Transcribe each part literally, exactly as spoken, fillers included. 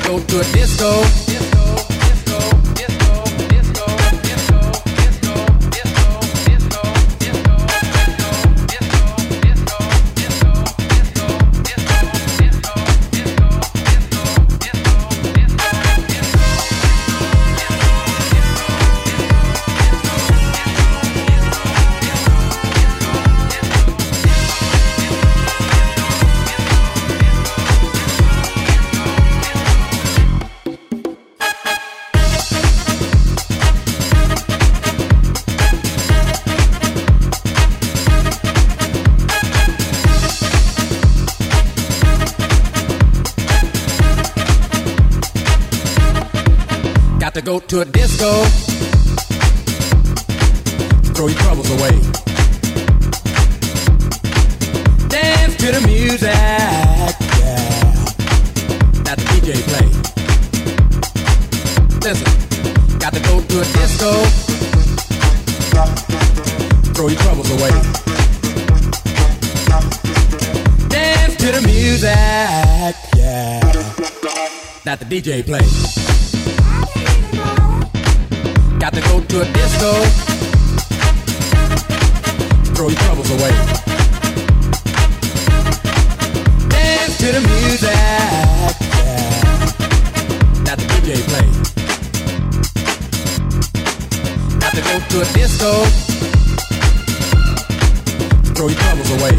go to a disco. To go to a disco, throw your troubles away. Dance to the music, yeah, that the D J play. Listen, got to go to a disco, throw your troubles away. Dance to the music, yeah, that the D J play. Got to go to a disco, throw your troubles away. Dance to the music, yeah, that the D J play. Got to go to a disco, throw your troubles away.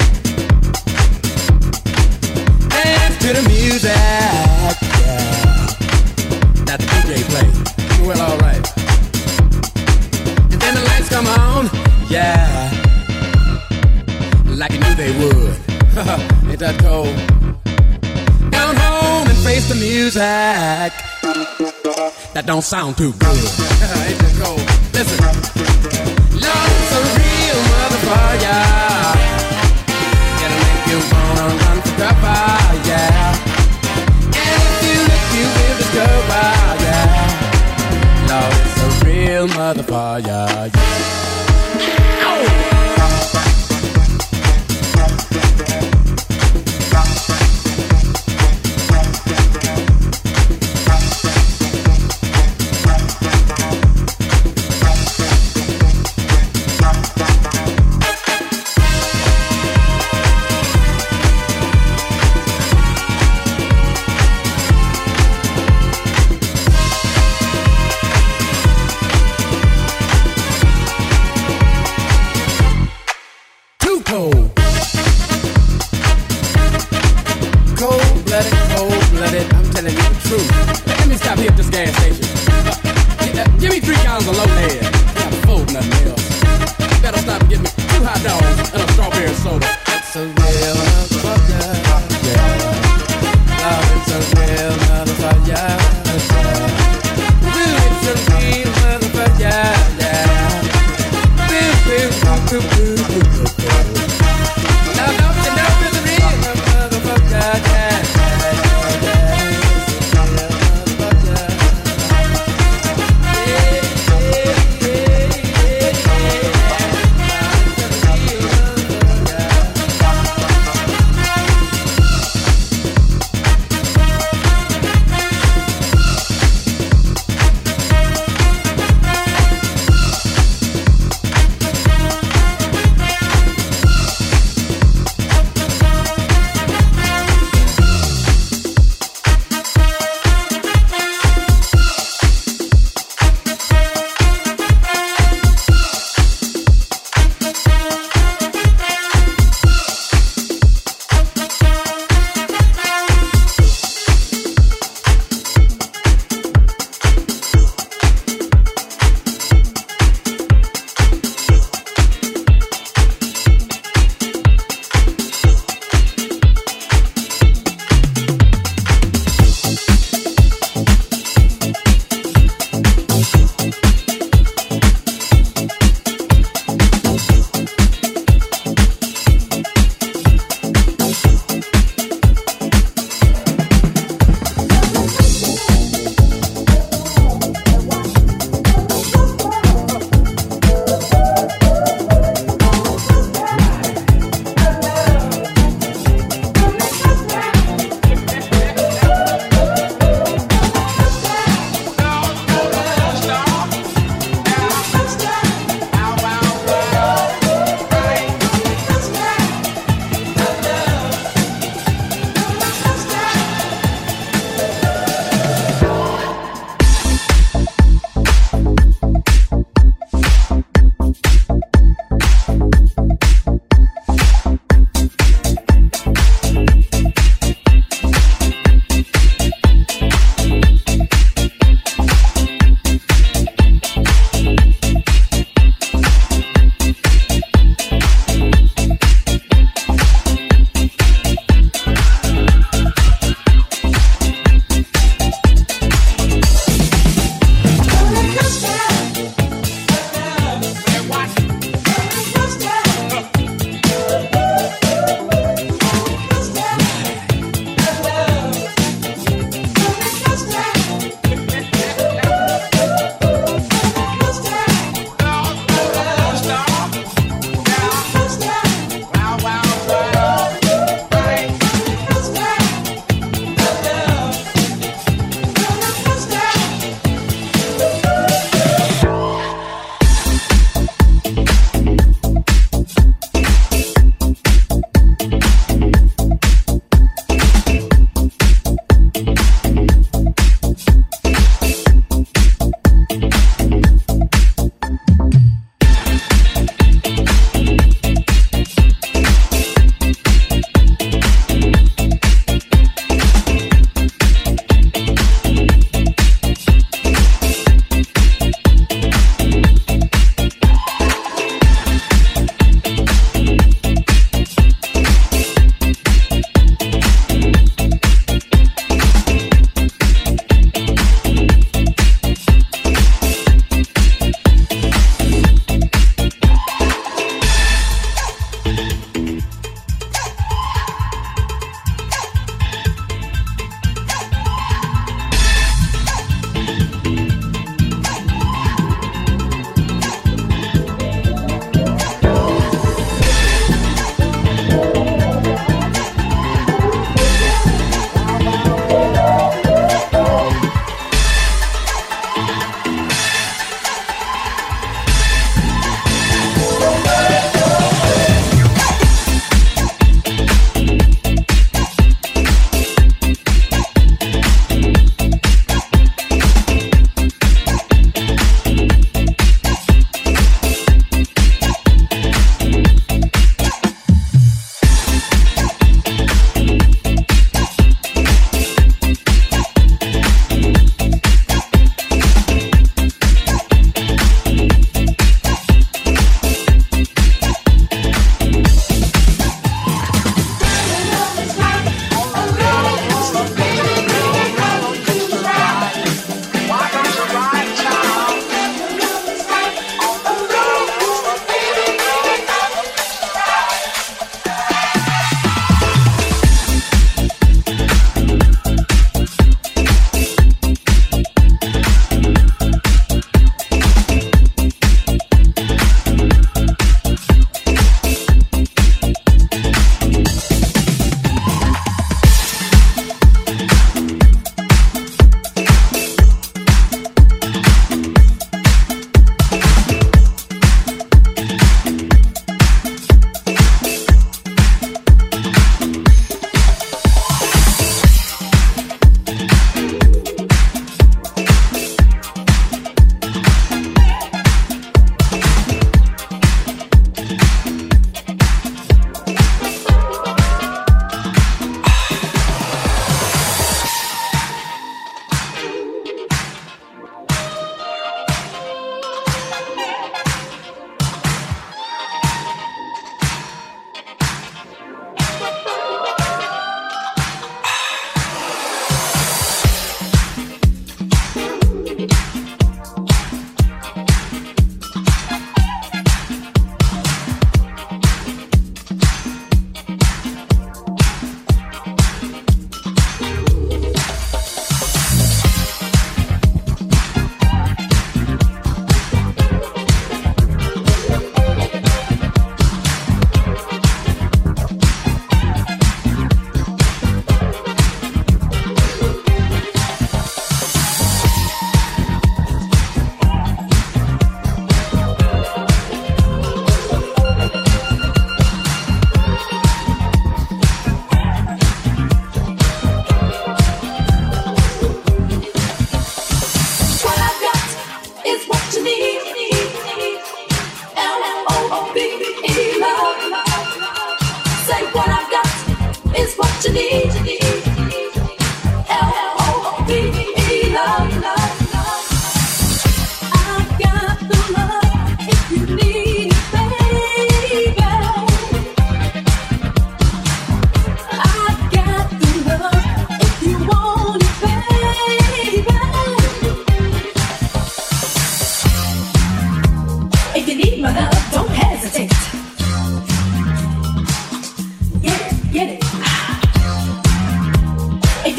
Dance to the music, yeah, that the D J play. Well, alright. And the lights come on, yeah, like you knew they would. Ain't that cold? Down home and face the music. That don't sound too good. Ain't that cold? Listen, love's a real motherfucker. It'll make you wanna run for cover, yeah. And if you look, you will discover, yeah. Love is a real motherfucker, yeah. Oh!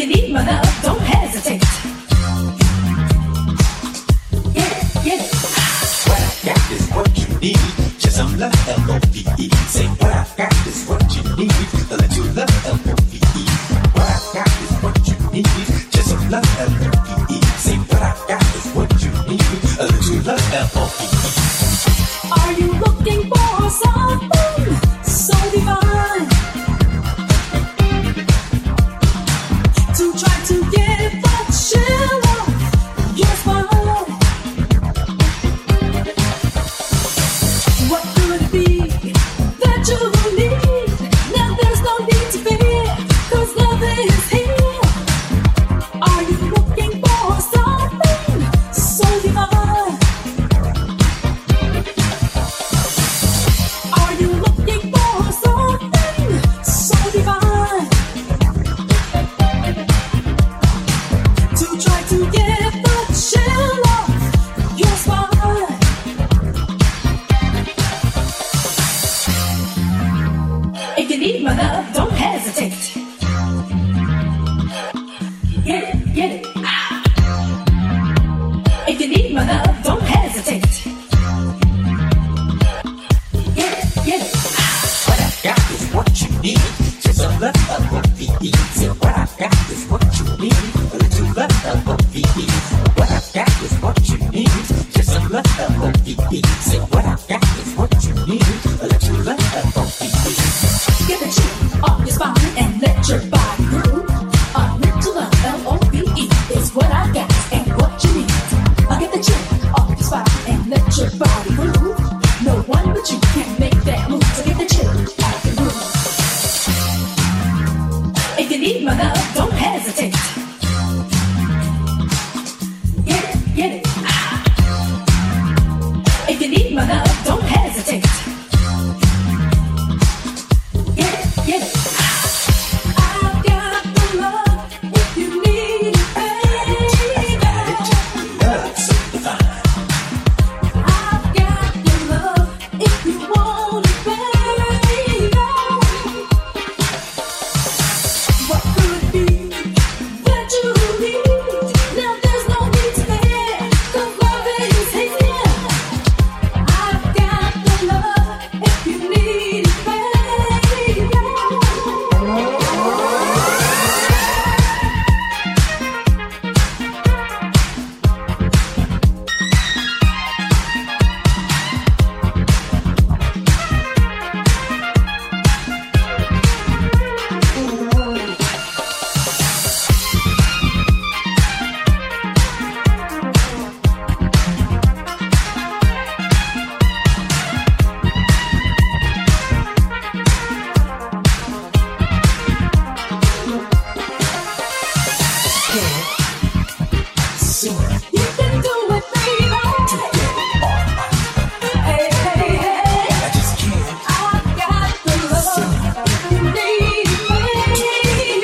you need my love, don't hesitate. Get it, get it. What I got is what you need. Just some love, L O V E. Say what I got is what you need. A little love, L O V E. What I got is what you need. Just some love, L O V E. Say what I got is what you need. A little love, L O V E. Are you looking for something so divine to try to get that chill off your spine? What could it be that you need? Now there's no need to fear, 'cause love is here. Are you looking for something so divine? Are you looking for something so divine to try to get the chill off your spine? If you need my love, don't hesitate. Get it, get it. If you need my love, don't hesitate. Get it, get it. What I got is what you need. Just some love, L O V E. Say what I got is what you need. A little love, L O V E. What I got is what you need. Just some love, L O V E. Say what I got is what you need. A little love, L O V E. Get the chill off your spine and let your body groove. A little love, L O V E, is what I got and what you need. I get the chill off your spine and let your body groove. No one but you can make that move. So get the chill off your groove. If you need my love, don't hesitate. Get it, get it. If you need my love, don't hesitate. Get it, get it. I've got the love if you need it, baby. Love so divine. I've got the love if you want it, baby. What could it be that you need? Now there's no need to fear, 'cause love is here. I've got the love if you need it, baby. You can do it, baby. Hey, hey, hey. I just can't. I've got the love you need, baby.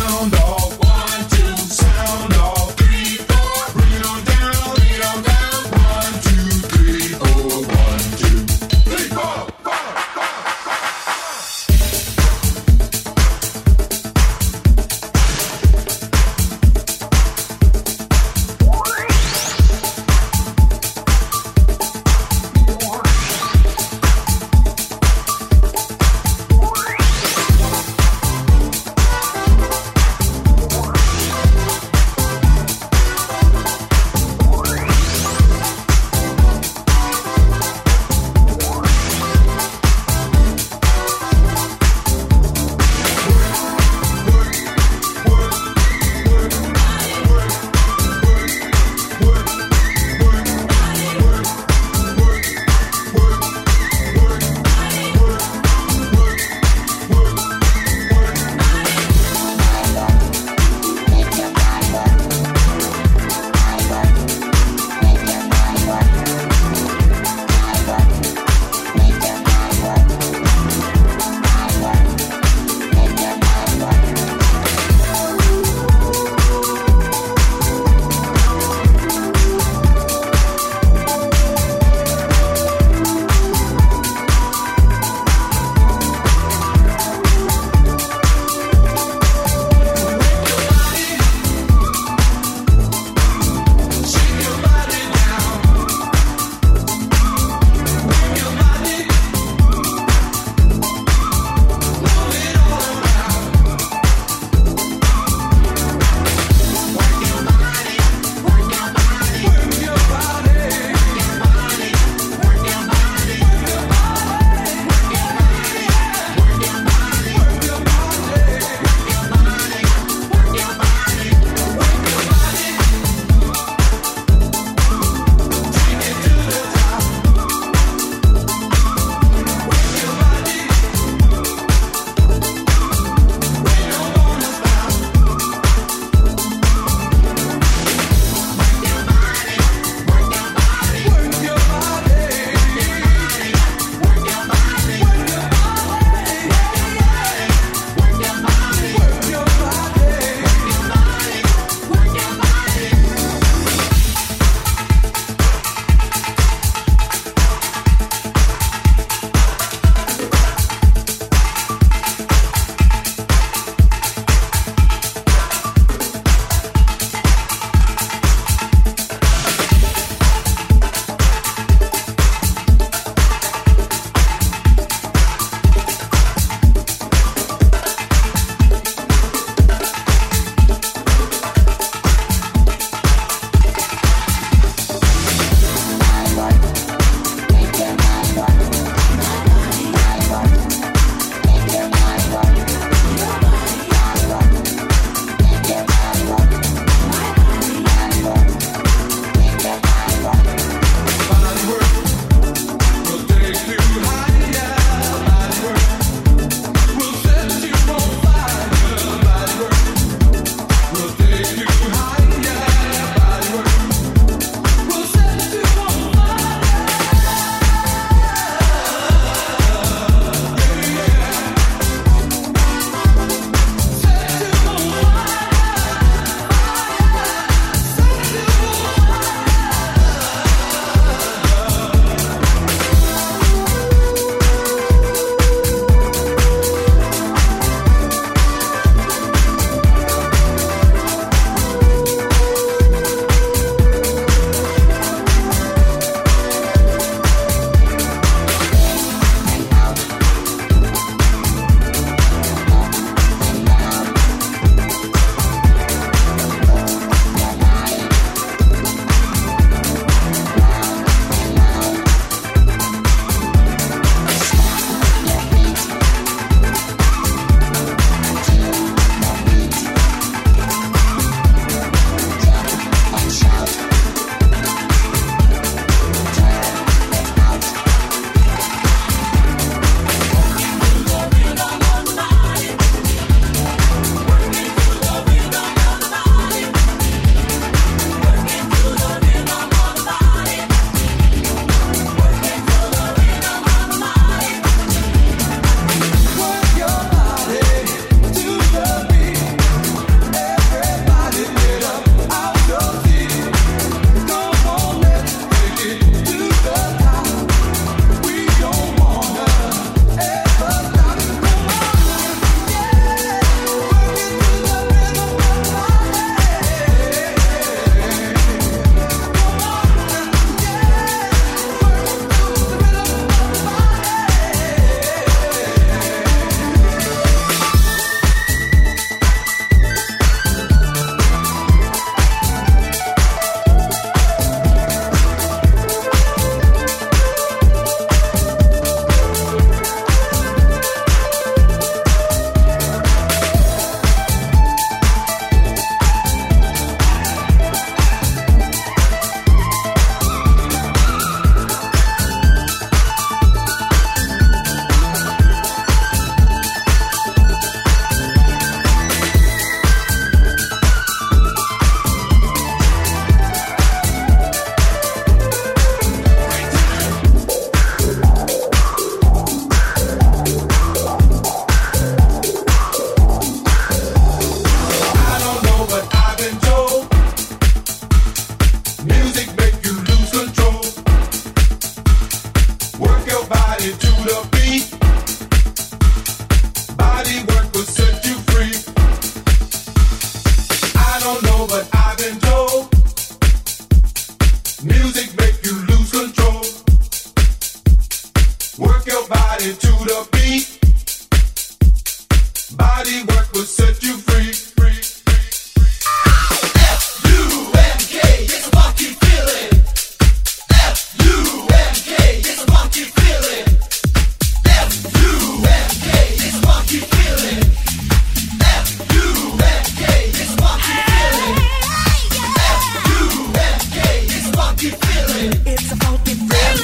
sound off. One, two, sound off. Three, four, bring it on down, bring it on down. One, two, three, four. One, two, three, four, four, four, don't know, but I've been told music make you lose control. Work your body to the beat. Body work will set you free. free, free, free. F U N K, it's a funky feeling. F U N K, it's a funky feeling. F U N K, it's a funky feeling. F U N K, it's a funky feeling. F U N K, it's a funky feeling. It's a funky feeling.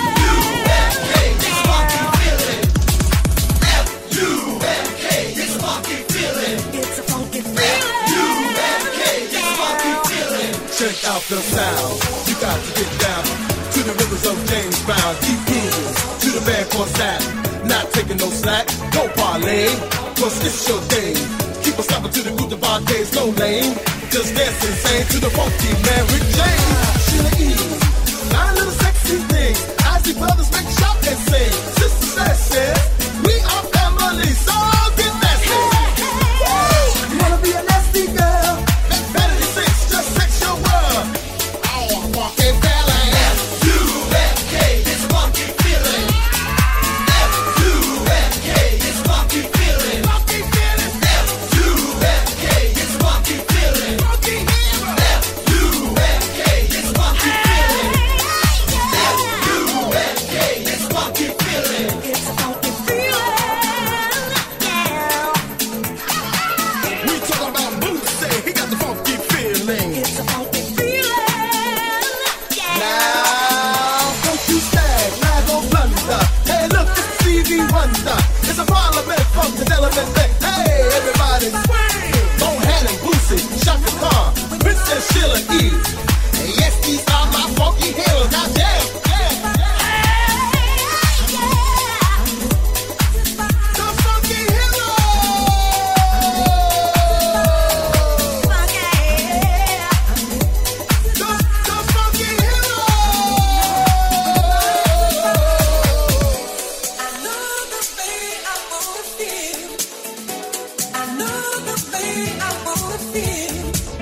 Check out the sound. You got to get down to the rhythms of James Brown. Keep moving to the band called Zap. Not taking no slack, no parlay, cause it's your day. Keep on stopping to the group of arcades, no lane. Just dance insane to the funky man Rick James. Sheila E, nine little sexy things. Ozzy brothers make shout and sing. Sister Slash says, we are family, so get nasty. You wanna be a nasty girl? Vanity six, just sex your world. Oh, walking ballet. F U N K, it's a funky feeling. F U N K, it's a funky feeling. Funky feeling. F U N K, it's a funky feeling. Funky hero. F U N K, it's a funky feeling. F U N K, it's a funky feeling. It's a funky feeling. Yeah. We talk about Boots, say he got the funky feeling. It's a funky feeling. Yeah. Now, don't you stag, lag or blunder. Hey, look, it's Stevie Wonder. It's a parliament from the element thing. Hey, everybody swing. Don't hand and Bootsy, Shaka Khan, Princess Sheila E. Hey, yes, these are my funky heroes. Now, damn, yeah, the funky heroes. The, the funky heroes. I know the way I wanna feel. I know the way I wanna feel.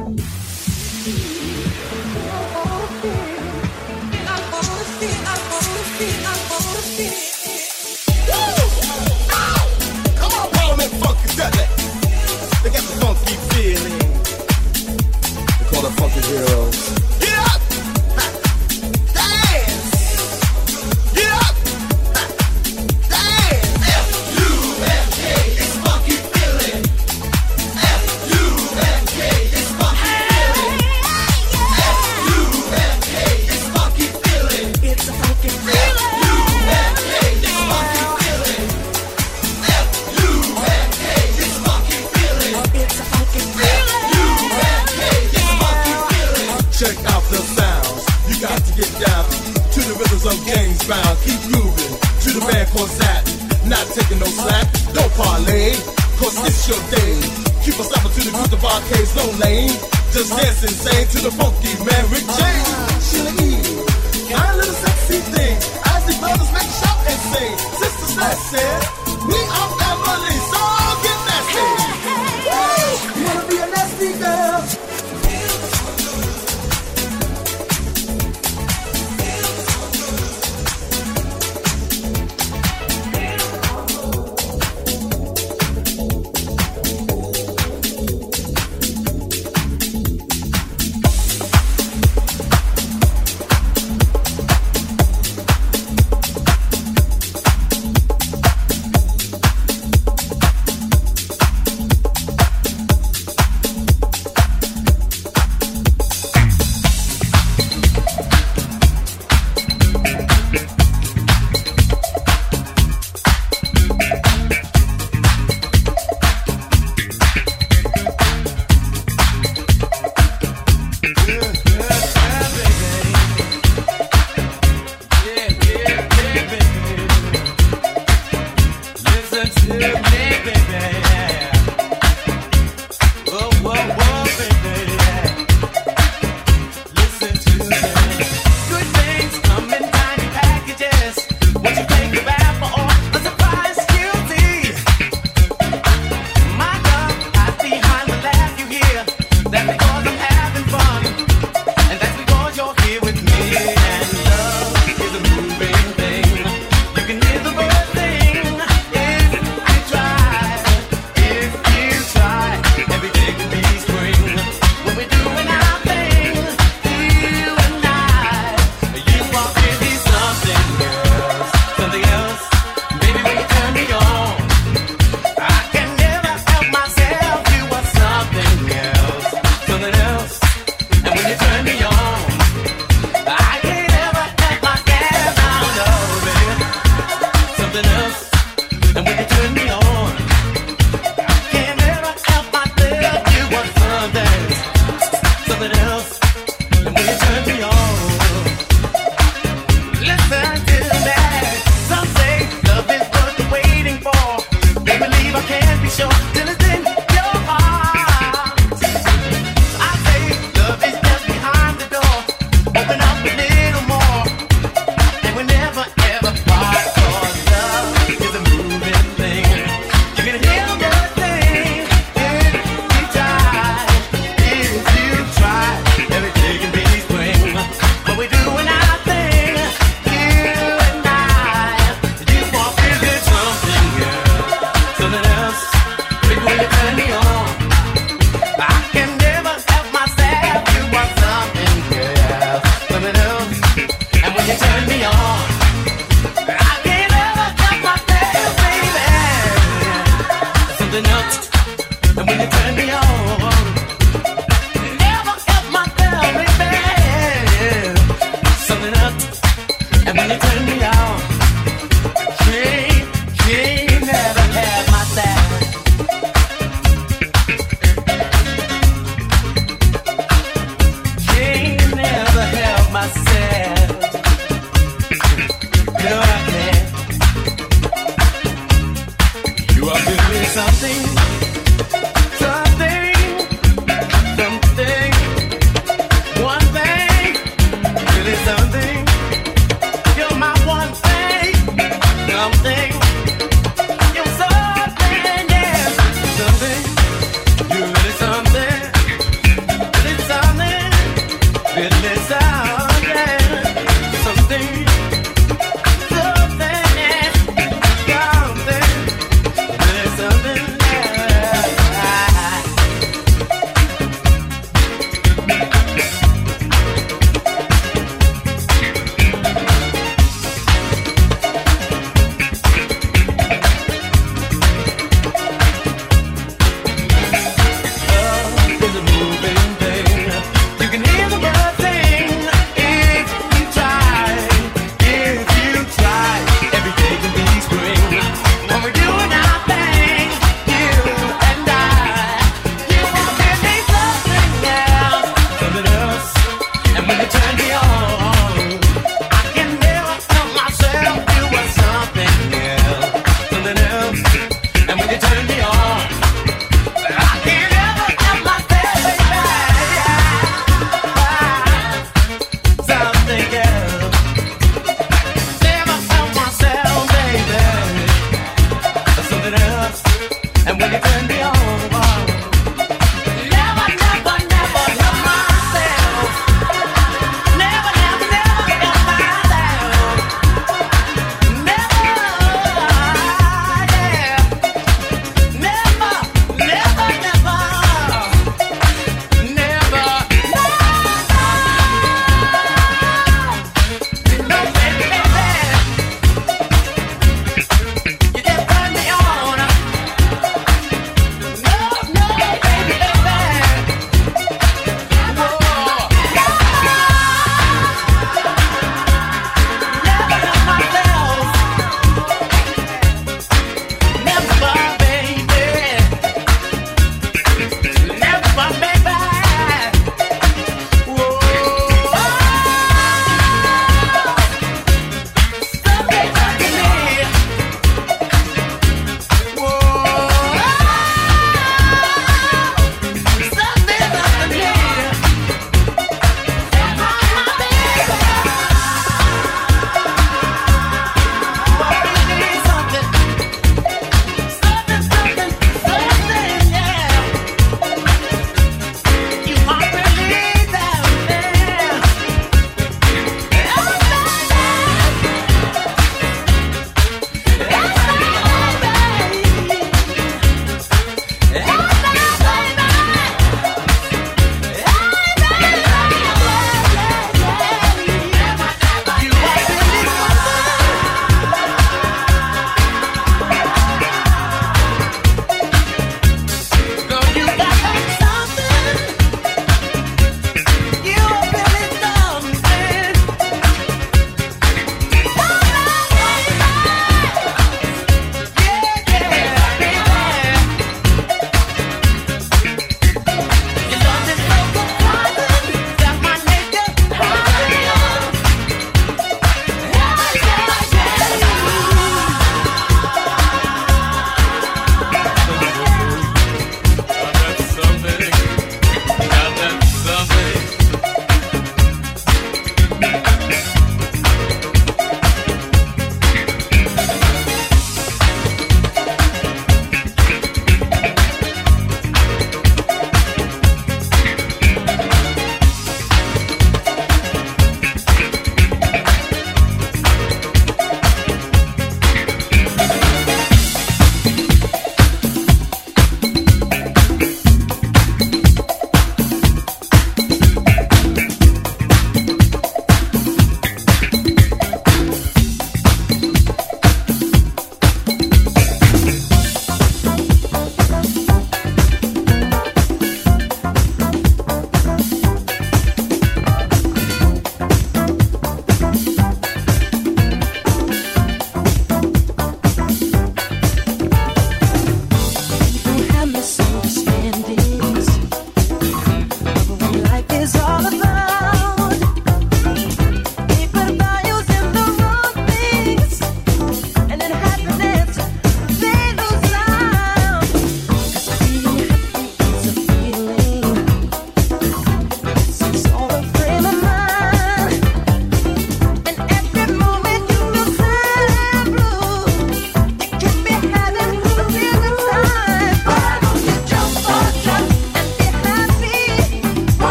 I wanna feel, I wanna feel, I wanna feel. Come on, Parliament Funkadelic. They got the funky feeling. They call them funky heroes. Get up! Ha. Dance! Get up! Ha. Dance! F U N K, it's funky feeling. F U N K, it's funky feeling. F U N K, it's funky feeling. It's a funky feeling. U N K, it's funky feeling. F U N K, it's funky feeling. It's a funky feeling. U N K, it's funky feeling. Check out the sounds. You got to get down to the rhythms of James Brown. Keep moving to the band called Zap. Not taking no slack, no parlay, cause it's your day. Keep on stopping to the group of arcades, no lane. Just dance insane to the funky man Rick James. Sheila E, nine little sexy things. As the brothers make shout and sing. Sister Slash says, we are family, so